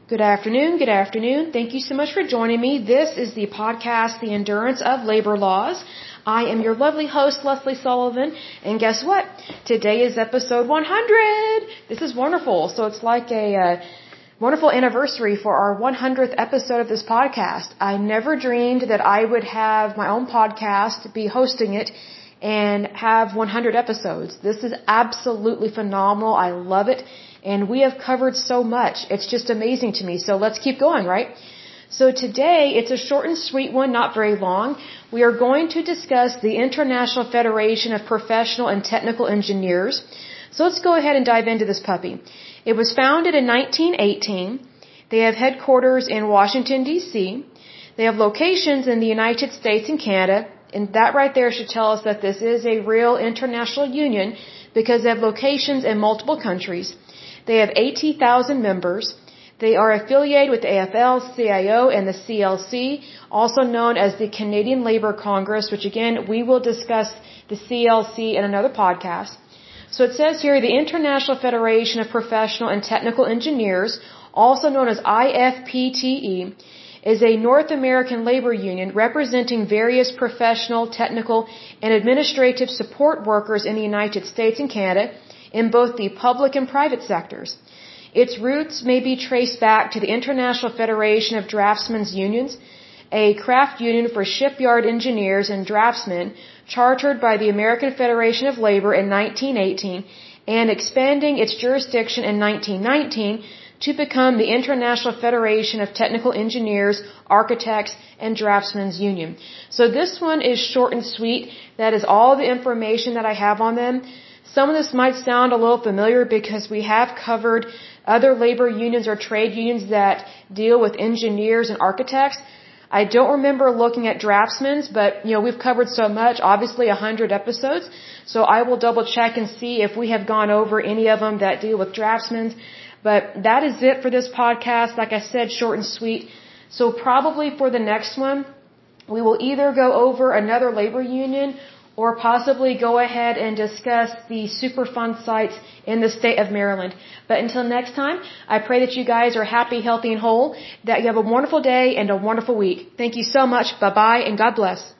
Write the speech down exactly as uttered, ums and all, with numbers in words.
Good afternoon, good afternoon. Thank you so much for joining me. This is the podcast, The Endurance of Labor Laws. I am your lovely host, Leslie Sullivan, and guess what? Today is episode one hundred! This is wonderful. So it's like a uh, wonderful anniversary for our one hundredth episode of this podcast. I never dreamed that I would have my own podcast, be hosting it, and have one hundred episodes. This is absolutely phenomenal. I love it. And we have covered so much. It's just amazing to me. So let's keep going, right? So today, it's a short and sweet one, not very long. We are going to discuss the International Federation of Professional and Technical Engineers. So let's go ahead and dive into this puppy. It was founded in nineteen eighteen. They have headquarters in Washington, D C. They have locations in the United States and Canada. And that right there should tell us that this is a real international union because they have locations in multiple countries. They have eighty thousand members. They are affiliated with the A F L, C I O, and the C L C, also known as the Canadian Labour Congress, which again, we will discuss the C L C in another podcast. So it says here, the International Federation of Professional and Technical Engineers, also known as I F P T E, is a North American labor union representing various professional, technical, and administrative support workers in the United States and Canada, in both the public and private sectors. Its roots may be traced back to the International Federation of Draftsmen's Unions, a craft union for shipyard engineers and draftsmen chartered by the American Federation of Labor in nineteen eighteen and expanding its jurisdiction in nineteen nineteen to become the International Federation of Technical Engineers, Architects, and Draftsmen's Union. So this one is short and sweet. That is all the information that I have on them. Some of this might sound a little familiar because we have covered other labor unions or trade unions that deal with engineers and architects. I don't remember looking at draftsmen's, but you know, we've covered so much, obviously one hundred episodes. So I will double check and see if we have gone over any of them that deal with draftsmen's. But that is it for this podcast. Like I said, short and sweet. So probably for the next one, we will either go over another labor union or possibly go ahead and discuss the Superfund sites in the state of Maryland. But until next time, I pray that you guys are happy, healthy, and whole, that you have a wonderful day and a wonderful week. Thank you so much. Bye-bye, and God bless.